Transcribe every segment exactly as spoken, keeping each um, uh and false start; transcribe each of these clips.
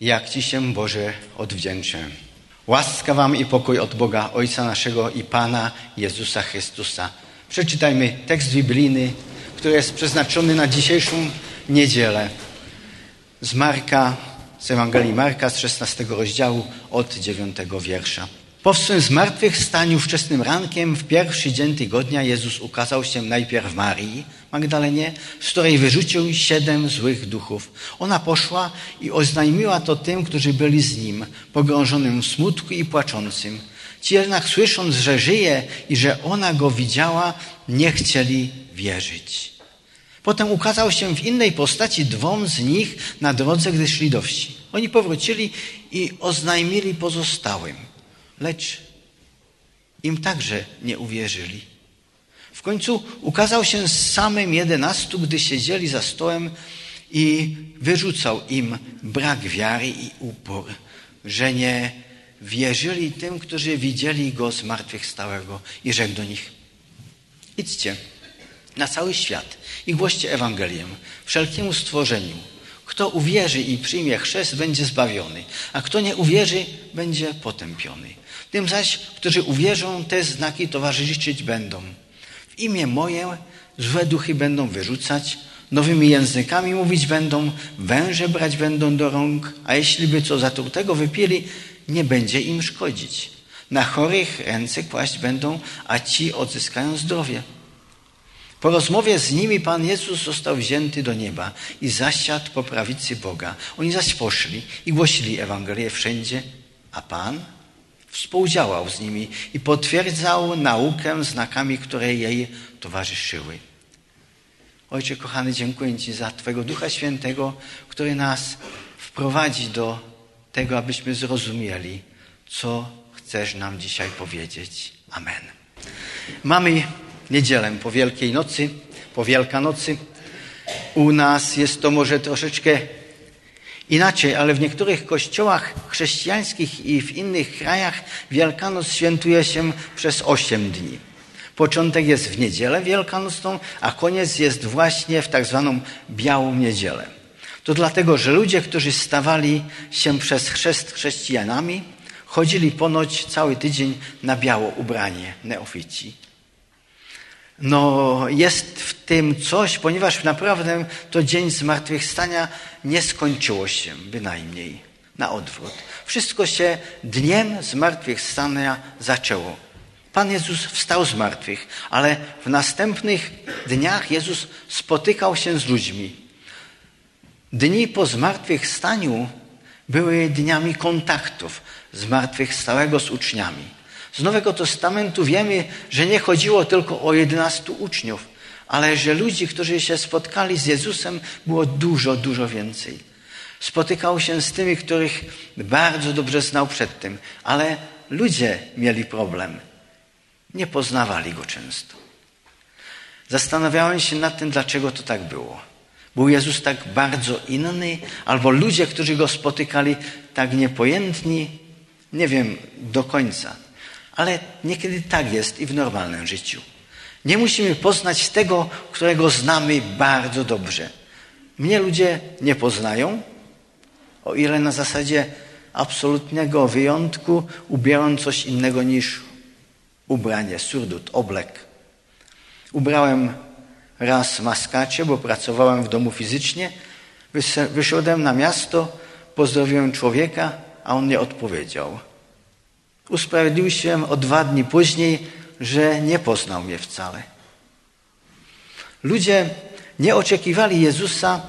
Jak Ci się, Boże, odwdzięczę. Łaska Wam i pokój od Boga Ojca naszego i Pana Jezusa Chrystusa. Przeczytajmy tekst biblijny, który jest przeznaczony na dzisiejszą niedzielę. Z Marka, z Ewangelii Marka, z szesnastego rozdziału, od dziewiątego wiersza. Po swym zmartwychwstaniu wczesnym rankiem w pierwszy dzień tygodnia Jezus ukazał się najpierw Marii Magdalenie, z której wyrzucił siedem złych duchów. Ona poszła i oznajmiła to tym, którzy byli z nim, pogrążonym w smutku i płaczącym. Ci jednak, słysząc, że żyje i że ona go widziała, nie chcieli wierzyć. Potem ukazał się w innej postaci dwom z nich na drodze, gdy szli do wsi. Oni powrócili i oznajmili pozostałym, lecz im także nie uwierzyli. W końcu ukazał się z samym jedenastu, gdy siedzieli za stołem i wyrzucał im brak wiary i upór, że nie wierzyli tym, którzy widzieli go zmartwychwstałego, i rzekł do nich: idźcie na cały świat i głoście Ewangelię wszelkiemu stworzeniu. Kto uwierzy i przyjmie chrzest, będzie zbawiony, a kto nie uwierzy, będzie potępiony. Tym zaś, którzy uwierzą, te znaki towarzyszyć będą. W imię moje złe duchy będą wyrzucać, nowymi językami mówić będą, węże brać będą do rąk, a jeśli by co zatrutego wypili, nie będzie im szkodzić. Na chorych ręce kłaść będą, a ci odzyskają zdrowie. Po rozmowie z nimi Pan Jezus został wzięty do nieba i zasiadł po prawicy Boga. Oni zaś poszli i głosili Ewangelię wszędzie, a Pan współdziałał z nimi i potwierdzał naukę znakami, które jej towarzyszyły. Ojcze kochany, dziękuję Ci za Twojego Ducha Świętego, który nas wprowadzi do tego, abyśmy zrozumieli, co chcesz nam dzisiaj powiedzieć. Amen. Mamy niedzielę po Wielkiej Nocy, po Wielkanocy. U nas jest to może troszeczkę inaczej, ale w niektórych kościołach chrześcijańskich i w innych krajach Wielkanoc świętuje się przez osiem dni. Początek jest w niedzielę wielkanocną, a koniec jest właśnie w tak zwaną Białą Niedzielę. To dlatego, że ludzie, którzy stawali się przez chrzest chrześcijanami, chodzili ponoć cały tydzień na biało ubranie, neofici. No jest w tym coś, ponieważ naprawdę to dzień zmartwychwstania nie skończyło się bynajmniej. Na odwrót. Wszystko się dniem zmartwychwstania zaczęło. Pan Jezus wstał z martwych, ale w następnych dniach Jezus spotykał się z ludźmi. Dni po zmartwychwstaniu były dniami kontaktów zmartwychwstałego z uczniami. Z Nowego Testamentu wiemy, że nie chodziło tylko o jedenastu uczniów, ale że ludzi, którzy się spotkali z Jezusem, było dużo, dużo więcej. Spotykał się z tymi, których bardzo dobrze znał przedtem, ale ludzie mieli problem. Nie poznawali go często. Zastanawiałem się nad tym, dlaczego to tak było. Był Jezus tak bardzo inny, albo ludzie, którzy go spotykali, tak niepojętni? Nie wiem do końca. Ale niekiedy tak jest i w normalnym życiu. Nie musimy poznać tego, którego znamy bardzo dobrze. Mnie ludzie nie poznają, o ile na zasadzie absolutnego wyjątku ubieram coś innego niż ubranie, surdut, oblek. Ubrałem raz maskacie, bo pracowałem w domu fizycznie. Wyszedłem na miasto, pozdrowiłem człowieka, a on nie odpowiedział. Usprawiedliwił się o dwa dni później, że nie poznał mnie wcale. Ludzie nie oczekiwali Jezusa,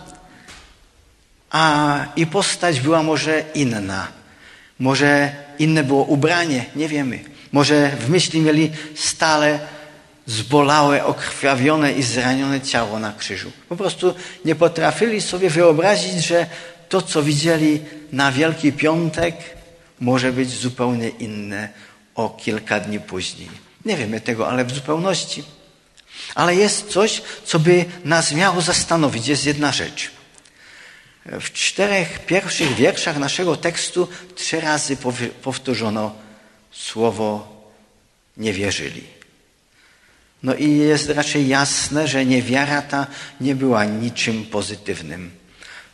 a i postać była może inna. Może inne było ubranie, nie wiemy. Może w myśli mieli stale zbolałe, okrwawione i zranione ciało na krzyżu. Po prostu nie potrafili sobie wyobrazić, że to, co widzieli na Wielki Piątek, może być zupełnie inne o kilka dni później. Nie wiemy tego, ale w zupełności. Ale jest coś, co by nas miało zastanowić. Jest jedna rzecz. W czterech pierwszych wierszach naszego tekstu trzy razy powtórzono słowo nie wierzyli. No i jest raczej jasne, że niewiara ta nie była niczym pozytywnym.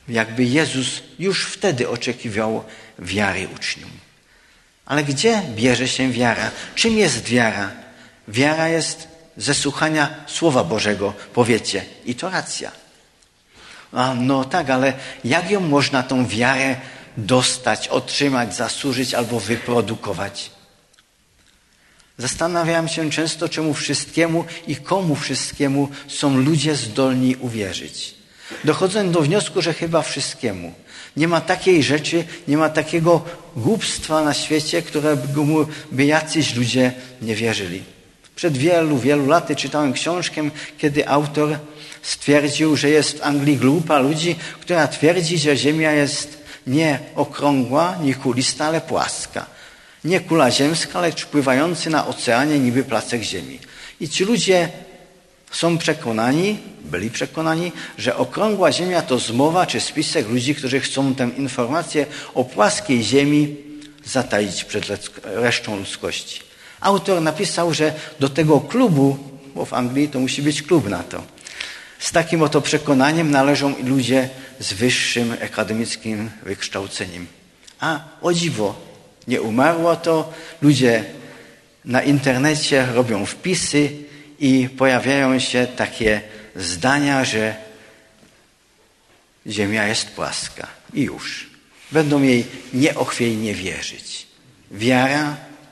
Jakby Jezus już wtedy oczekiwał wiary uczniom. Ale gdzie bierze się wiara? Czym jest wiara? Wiara jest ze słuchania Słowa Bożego, powiecie. I to racja. A no tak, ale jak ją można tą wiarę dostać, otrzymać, zasłużyć albo wyprodukować? Zastanawiam się często, czemu wszystkiemu i komu wszystkiemu są ludzie zdolni uwierzyć. Dochodzę do wniosku, że chyba wszystkiemu. Nie ma takiej rzeczy, nie ma takiego głupstwa na świecie, które by jacyś ludzie nie wierzyli. Przed wielu, wielu laty czytałem książkę, kiedy autor stwierdził, że jest w Anglii grupa ludzi, która twierdzi, że Ziemia jest nie okrągła, nie kulista, ale płaska. Nie kula ziemska, lecz pływający na oceanie niby placek ziemi. I ci ludzie są przekonani, byli przekonani, że okrągła ziemia to zmowa czy spisek ludzi, którzy chcą tę informację o płaskiej ziemi zataić przed resztą ludzkości. Autor napisał, że do tego klubu, bo w Anglii to musi być klub na to, z takim oto przekonaniem należą i ludzie z wyższym akademickim wykształceniem. A o dziwo, nie umarło to, ludzie na internecie robią wpisy i pojawiają się takie zdania, że Ziemia jest płaska. I już. Będą jej nieochwiejnie wierzyć. Wiara.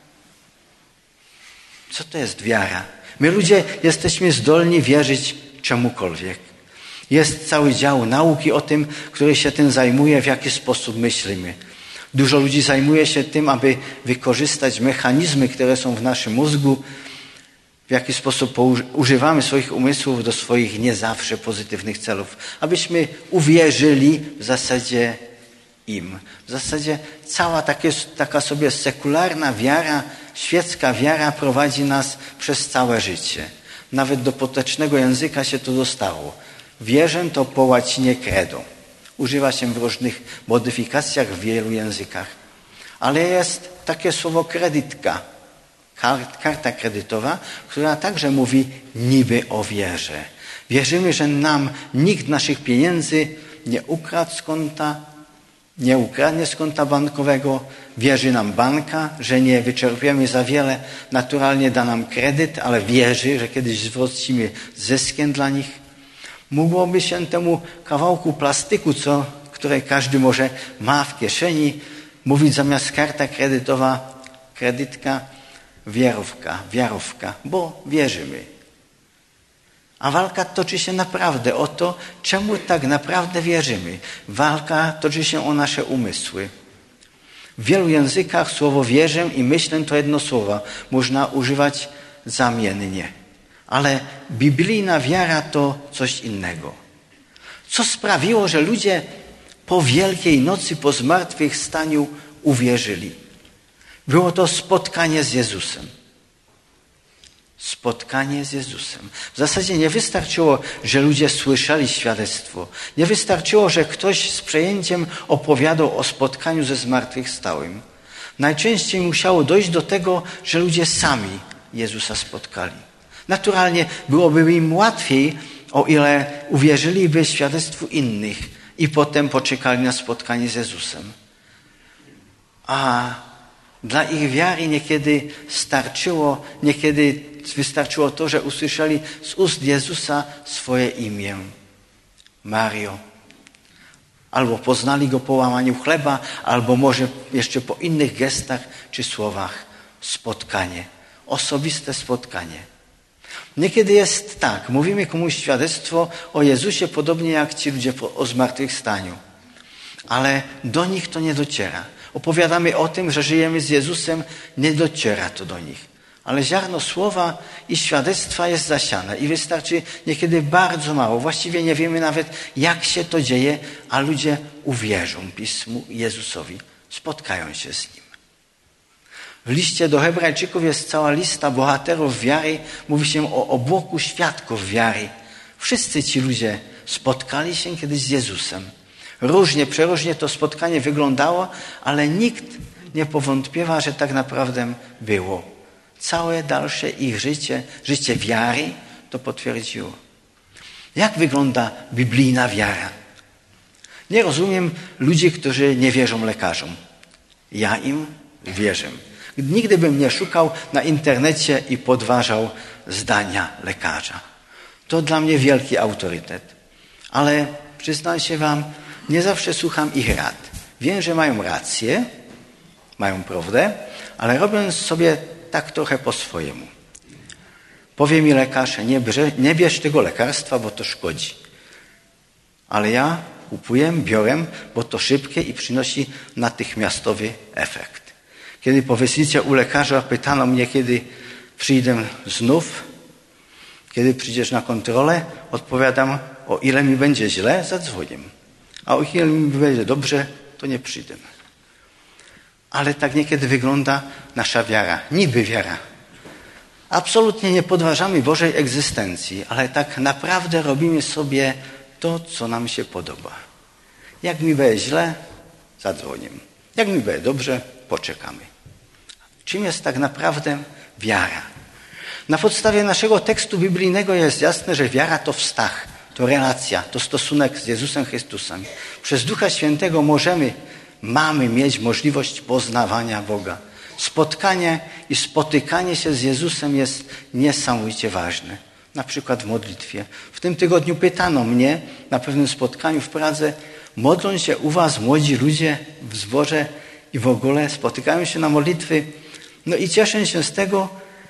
Co to jest wiara? My ludzie jesteśmy zdolni wierzyć czemukolwiek. Jest cały dział nauki o tym, który się tym zajmuje, w jaki sposób myślimy. Dużo ludzi zajmuje się tym, aby wykorzystać mechanizmy, które są w naszym mózgu, w jaki sposób używamy swoich umysłów do swoich nie zawsze pozytywnych celów, abyśmy uwierzyli w zasadzie im. W zasadzie cała takie, taka sobie sekularna wiara, świecka wiara prowadzi nas przez całe życie. Nawet do potecznego języka się to dostało. Wierzę to po łacinie credo. Używa się w różnych modyfikacjach w wielu językach. Ale jest takie słowo kredytka, karta kredytowa, która także mówi niby o wierze. Wierzymy, że nam nikt naszych pieniędzy nie ukradł z konta, nie ukradnie z konta bankowego, wierzy nam banka, że nie wyczerpiemy za wiele, naturalnie da nam kredyt, ale wierzy, że kiedyś zwrócimy zyskiem dla nich. Mogłoby się temu kawałku plastyku, co, które każdy może ma w kieszeni, mówić zamiast karta kredytowa, kredytka, wierówka, wiarówka, bo wierzymy. A walka toczy się naprawdę o to, czemu tak naprawdę wierzymy. Walka toczy się o nasze umysły. W wielu językach słowo wierzę i myślę to jedno słowo. Można używać zamiennie. Ale biblijna wiara to coś innego. Co sprawiło, że ludzie po Wielkiej Nocy, po zmartwychwstaniu uwierzyli? Było to spotkanie z Jezusem. Spotkanie z Jezusem. W zasadzie nie wystarczyło, że ludzie słyszeli świadectwo. Nie wystarczyło, że ktoś z przejęciem opowiadał o spotkaniu ze zmartwychwstałym. Najczęściej musiało dojść do tego, że ludzie sami Jezusa spotkali. Naturalnie byłoby im łatwiej, o ile uwierzyliby świadectwu innych i potem poczekali na spotkanie z Jezusem. A dla ich wiary niekiedy starczyło, niekiedy wystarczyło to, że usłyszeli z ust Jezusa swoje imię. Mario. Albo poznali Go po łamaniu chleba, albo może jeszcze po innych gestach czy słowach. Spotkanie. Osobiste spotkanie. Niekiedy jest tak, mówimy komuś świadectwo o Jezusie, podobnie jak ci ludzie o zmartwychwstaniu. Ale do nich to nie dociera. Opowiadamy o tym, że żyjemy z Jezusem, nie dociera to do nich. Ale ziarno słowa i świadectwa jest zasiane i wystarczy niekiedy bardzo mało. Właściwie nie wiemy nawet, jak się to dzieje, a ludzie uwierzą Pismu Jezusowi. Spotkają się z Nim. W liście do Hebrajczyków jest cała lista bohaterów wiary. Mówi się o obłoku świadków wiary. Wszyscy ci ludzie spotkali się kiedyś z Jezusem. Różnie, przeróżnie to spotkanie wyglądało, ale nikt nie powątpiewa, że tak naprawdę było. Całe dalsze ich życie, życie wiary to potwierdziło. Jak wygląda biblijna wiara? Nie rozumiem ludzi, którzy nie wierzą lekarzom. Ja im wierzę. Nigdy bym nie szukał na internecie i podważał zdania lekarza. To dla mnie wielki autorytet. Ale przyznam się wam, nie zawsze słucham ich rad. Wiem, że mają rację, mają prawdę, ale robię sobie tak trochę po swojemu. Powie mi lekarz, nie, brze, nie bierz tego lekarstwa, bo to szkodzi. Ale ja kupuję, biorę, bo to szybkie i przynosi natychmiastowy efekt. Kiedy po wizycie u lekarza pytano mnie, kiedy przyjdę znów, kiedy przyjdziesz na kontrolę, odpowiadam, o ile mi będzie źle, zadzwonię. A o ile mi będzie dobrze, to nie przyjdę. Ale tak niekiedy wygląda nasza wiara, niby wiara. Absolutnie nie podważamy Bożej egzystencji, ale tak naprawdę robimy sobie to, co nam się podoba. Jak mi będzie źle, zadzwonię. Jak mi będzie dobrze, poczekamy. Czym jest tak naprawdę wiara? Na podstawie naszego tekstu biblijnego jest jasne, że wiara to wstach, to relacja, to stosunek z Jezusem Chrystusem. Przez Ducha Świętego możemy, mamy mieć możliwość poznawania Boga. Spotkanie i spotykanie się z Jezusem jest niesamowicie ważne. Na przykład w modlitwie. W tym tygodniu pytano mnie na pewnym spotkaniu w Pradze, modlą się u was młodzi ludzie w zborze i w ogóle spotykają się na modlitwy. No i cieszę się z tego,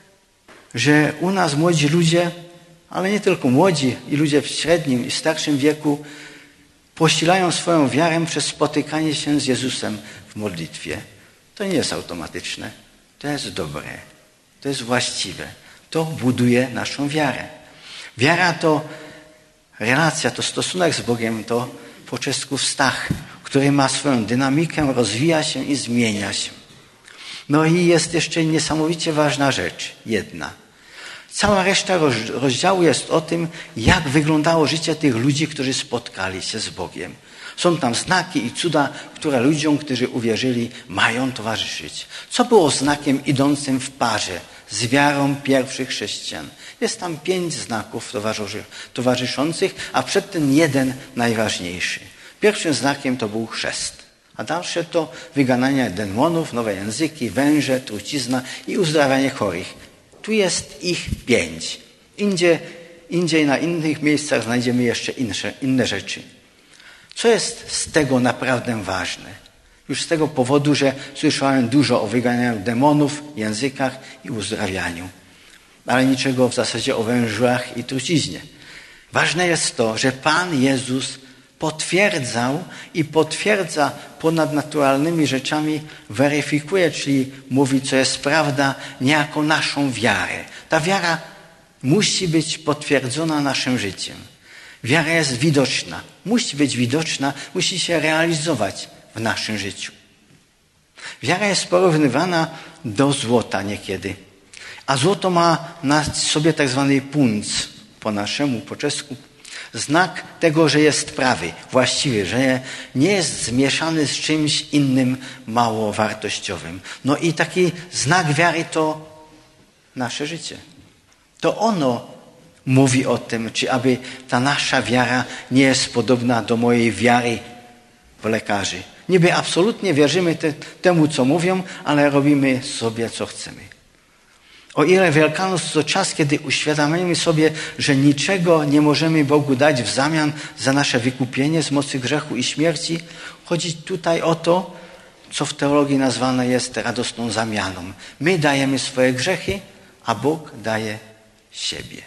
że u nas młodzi ludzie, ale nie tylko młodzi, i ludzie w średnim i starszym wieku posilają swoją wiarę przez spotykanie się z Jezusem w modlitwie. To nie jest automatyczne. To jest dobre. To jest właściwe. To buduje naszą wiarę. Wiara to relacja, to stosunek z Bogiem, to po czesku wstach, który ma swoją dynamikę, rozwija się i zmienia się. No i jest jeszcze niesamowicie ważna rzecz, jedna. Cała reszta rozdziału jest o tym, jak wyglądało życie tych ludzi, którzy spotkali się z Bogiem. Są tam znaki i cuda, które ludziom, którzy uwierzyli, mają towarzyszyć. Co było znakiem idącym w parze z wiarą pierwszych chrześcijan? Jest tam pięć znaków towarzyszących, a przedtem jeden najważniejszy. Pierwszym znakiem to był chrzest, a dalsze to wygananie demonów, nowe języki, węże, trucizna i uzdrawianie chorych. Tu jest ich pięć. Indziej, indziej na innych miejscach znajdziemy jeszcze inne, inne rzeczy. Co jest z tego naprawdę ważne? Już z tego powodu, że słyszałem dużo o wyganianiu demonów, językach i uzdrawianiu. Ale niczego w zasadzie o wężach i truciźnie. Ważne jest to, że Pan Jezus potwierdzał i potwierdza ponadnaturalnymi rzeczami, weryfikuje, czyli mówi, co jest prawda, niejako naszą wiarę. Ta wiara musi być potwierdzona naszym życiem. Wiara jest widoczna, musi być widoczna, musi się realizować w naszym życiu. Wiara jest porównywana do złota niekiedy, a złoto ma na sobie tak zwany punc, po naszemu, po czesku, znak tego, że jest prawy, właściwy, że nie jest zmieszany z czymś innym mało wartościowym. No i taki znak wiary to nasze życie. To ono mówi o tym, czy aby ta nasza wiara nie jest podobna do mojej wiary w lekarzy. Niby absolutnie wierzymy te, temu, co mówią, ale robimy sobie, co chcemy. O ile Wielkanoc to czas, kiedy uświadamiamy sobie, że niczego nie możemy Bogu dać w zamian za nasze wykupienie z mocy grzechu i śmierci, chodzi tutaj o to, co w teologii nazwane jest radosną zamianą. My dajemy swoje grzechy, a Bóg daje siebie.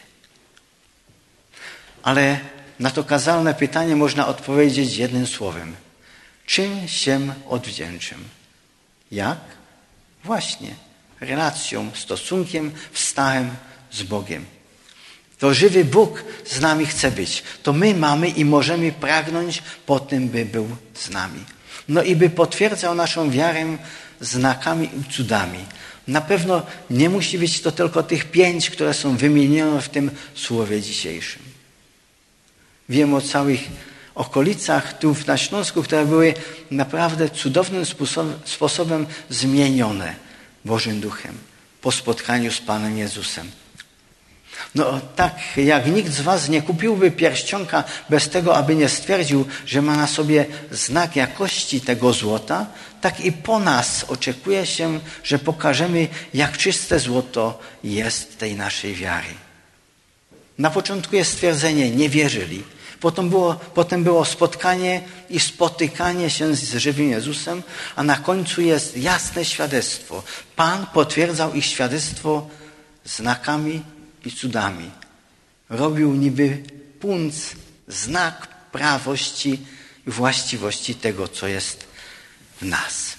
Ale na to kazalne pytanie można odpowiedzieć jednym słowem. Czym się odwdzięczę? Jak? Właśnie relacją, stosunkiem, wstachem z Bogiem. To żywy Bóg z nami chce być. To my mamy i możemy pragnąć po tym, by był z nami. No i by potwierdzał naszą wiarę znakami i cudami. Na pewno nie musi być to tylko tych pięć, które są wymienione w tym słowie dzisiejszym. Wiem o całych okolicach tu na Śląsku, które były naprawdę cudownym sposobem zmienione Bożym Duchem po spotkaniu z Panem Jezusem. No tak, jak nikt z was nie kupiłby pierścionka bez tego, aby nie stwierdził, że ma na sobie znak jakości tego złota, tak i po nas oczekuje się, że pokażemy, jak czyste złoto jest tej naszej wiary. Na początku jest stwierdzenie, nie wierzyli. Potem było, potem było spotkanie i spotykanie się z żywym Jezusem, a na końcu jest jasne świadectwo. Pan potwierdzał ich świadectwo znakami i cudami. Robił niby punc, znak prawości i właściwości tego, co jest w nas.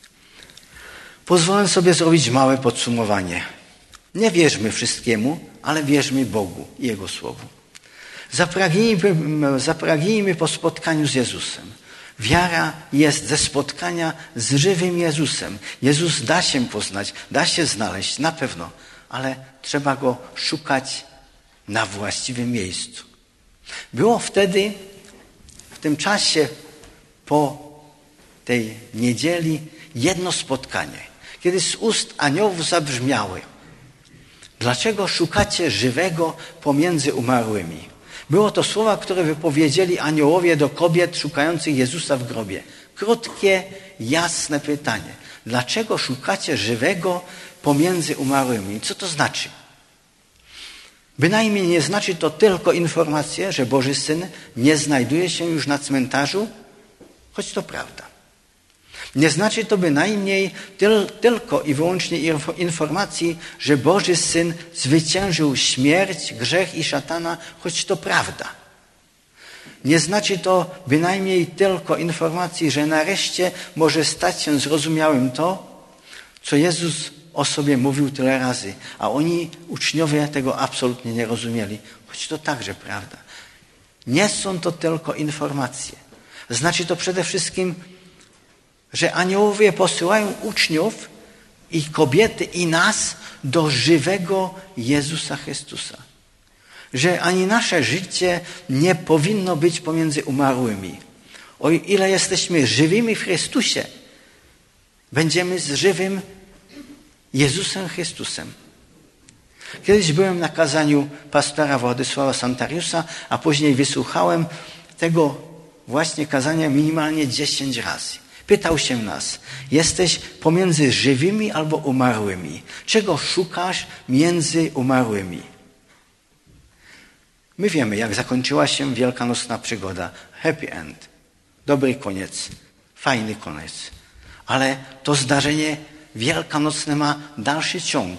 Pozwolę sobie zrobić małe podsumowanie. Nie wierzmy wszystkiemu, ale wierzmy Bogu i Jego Słowu. Zapragnijmy, zapragnijmy po spotkaniu z Jezusem. Wiara jest ze spotkania z żywym Jezusem. Jezus da się poznać, da się znaleźć, na pewno, ale trzeba Go szukać na właściwym miejscu. Było wtedy, w tym czasie, po tej niedzieli, jedno spotkanie, kiedy z ust aniołów zabrzmiały: dlaczego szukacie żywego pomiędzy umarłymi? Było to słowa, które wypowiedzieli aniołowie do kobiet szukających Jezusa w grobie. Krótkie, jasne pytanie. Dlaczego szukacie żywego pomiędzy umarłymi? Co to znaczy? Bynajmniej nie znaczy to tylko informację, że Boży Syn nie znajduje się już na cmentarzu, choć to prawda. Nie znaczy to bynajmniej tyl, tylko i wyłącznie informacji, że Boży Syn zwyciężył śmierć, grzech i szatana, choć to prawda. Nie znaczy to bynajmniej tylko informacji, że nareszcie może stać się zrozumiałym to, co Jezus o sobie mówił tyle razy, a oni, uczniowie, tego absolutnie nie rozumieli, choć to także prawda. Nie są to tylko informacje. Znaczy to przede wszystkim, że aniołowie posyłają uczniów i kobiety i nas do żywego Jezusa Chrystusa. Że ani nasze życie nie powinno być pomiędzy umarłymi. O ile jesteśmy żywymi w Chrystusie, będziemy z żywym Jezusem Chrystusem. Kiedyś byłem na kazaniu pastora Władysława Santariusa, a później wysłuchałem tego właśnie kazania minimalnie dziesięć razy. Pytał się nas: jesteś pomiędzy żywymi albo umarłymi? Czego szukasz między umarłymi? My wiemy, jak zakończyła się wielkanocna przygoda. Happy end. Dobry koniec. Fajny koniec. Ale to zdarzenie wielkanocne ma dalszy ciąg.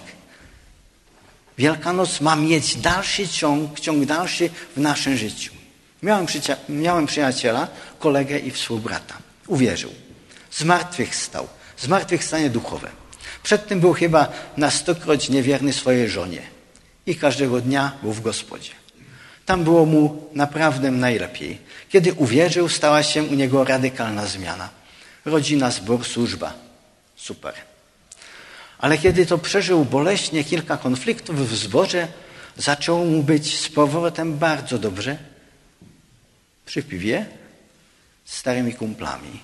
Wielkanoc ma mieć dalszy ciąg, ciąg dalszy w naszym życiu. Miałem, przycia- miałem przyjaciela, kolegę i współbrata. Uwierzył. Zmartwychwstał. Zmartwychwstanie duchowe. Przedtem był chyba na stokroć niewierny swojej żonie. I każdego dnia był w gospodzie. Tam było mu naprawdę najlepiej. Kiedy uwierzył, stała się u niego radykalna zmiana. Rodzina, zbór, służba. Super. Ale kiedy to przeżył boleśnie kilka konfliktów w zborze, zaczęło mu być z powrotem bardzo dobrze. Przy piwie z starymi kumplami.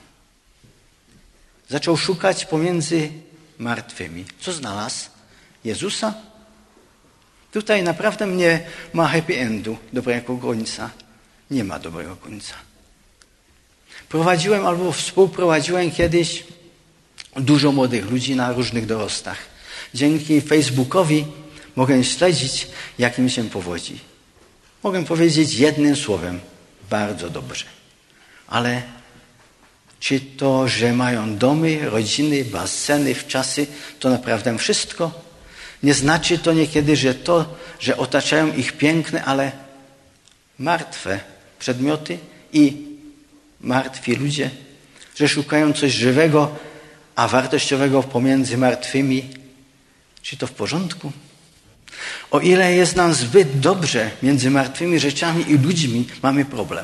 Zaczął szukać pomiędzy martwymi. Co znalazł? Jezusa? Tutaj naprawdę nie ma happy endu, dobrego końca. Nie ma dobrego końca. Prowadziłem albo współprowadziłem kiedyś dużo młodych ludzi na różnych dorostach. Dzięki Facebookowi mogę śledzić, jak im się powodzi. Mogę powiedzieć jednym słowem: bardzo dobrze. Ale czy to, że mają domy, rodziny, baseny, wczasy, to naprawdę wszystko? Nie znaczy to niekiedy, że to, że otaczają ich piękne, ale martwe przedmioty i martwi ludzie, że szukają coś żywego, a wartościowego pomiędzy martwymi. Czy to w porządku? O ile jest nam zbyt dobrze między martwymi rzeczami i ludźmi, mamy problem.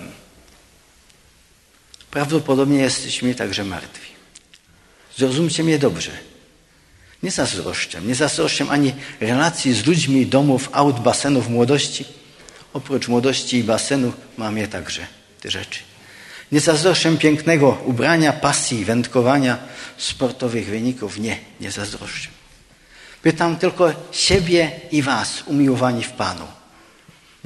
Prawdopodobnie jesteśmy także martwi. Zrozumcie mnie dobrze. Nie zazdroszczę. Nie zazdroszczę ani relacji z ludźmi, domów, aut, basenów, młodości. Oprócz młodości i basenu mam je także, te rzeczy. Nie zazdroszczę pięknego ubrania, pasji, wędkowania, sportowych wyników. Nie, nie zazdroszczę. Pytam tylko siebie i was, umiłowani w Panu.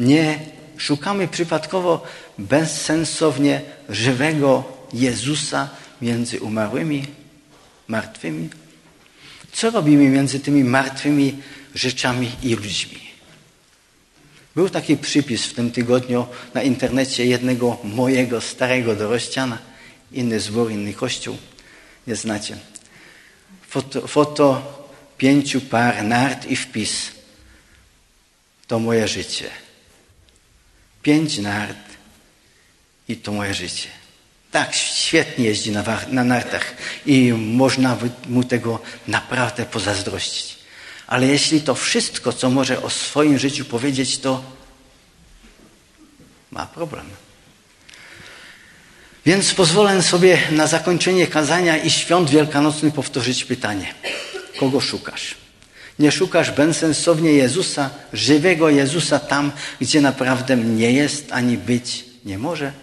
Nie szukamy przypadkowo bezsensownie żywego Jezusa między umarłymi, martwymi. Co robimy między tymi martwymi rzeczami i ludźmi? Był taki przypis w tym tygodniu na internecie jednego mojego starego dorościana, inny zbór, inny kościół, nie znacie. Foto, foto pięciu par nart i wpis. To moje życie. Pięć nart i to moje życie. Tak, świetnie jeździ na, na nartach i można mu tego naprawdę pozazdrościć. Ale jeśli to wszystko, co może o swoim życiu powiedzieć, to ma problem. Więc pozwolę sobie na zakończenie kazania i świąt wielkanocnych powtórzyć pytanie. Kogo szukasz? Nie szukasz bezsensownie Jezusa, żywego Jezusa tam, gdzie naprawdę nie jest ani być nie może?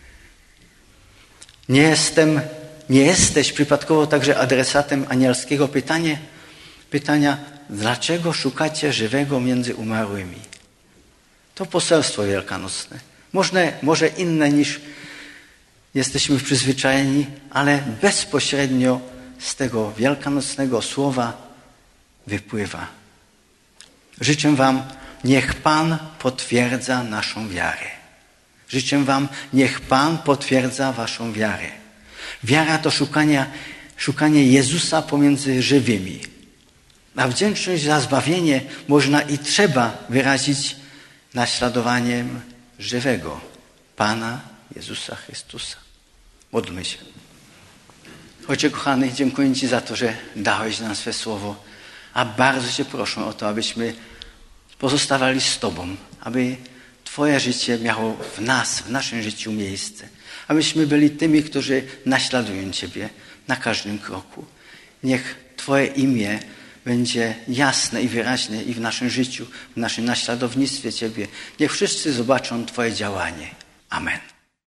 Nie jestem, nie jesteś przypadkowo także adresatem anielskiego pytania, pytania, dlaczego szukacie żywego między umarłymi? To poselstwo wielkanocne. Może, może inne niż jesteśmy przyzwyczajeni, ale bezpośrednio z tego wielkanocnego słowa wypływa. Życzę wam, niech Pan potwierdza naszą wiarę. Życzę wam, niech Pan potwierdza waszą wiarę. Wiara to szukanie, szukanie Jezusa pomiędzy żywymi. A wdzięczność za zbawienie można i trzeba wyrazić naśladowaniem żywego Pana Jezusa Chrystusa. Módlmy się. Ojcze kochany, dziękuję Ci za to, że dałeś nam swe słowo, a bardzo Cię proszę o to, abyśmy pozostawali z Tobą, aby Twoje życie miało w nas, w naszym życiu miejsce. Abyśmy byli tymi, którzy naśladują Ciebie na każdym kroku. Niech Twoje imię będzie jasne i wyraźne i w naszym życiu, w naszym naśladownictwie Ciebie. Niech wszyscy zobaczą Twoje działanie. Amen.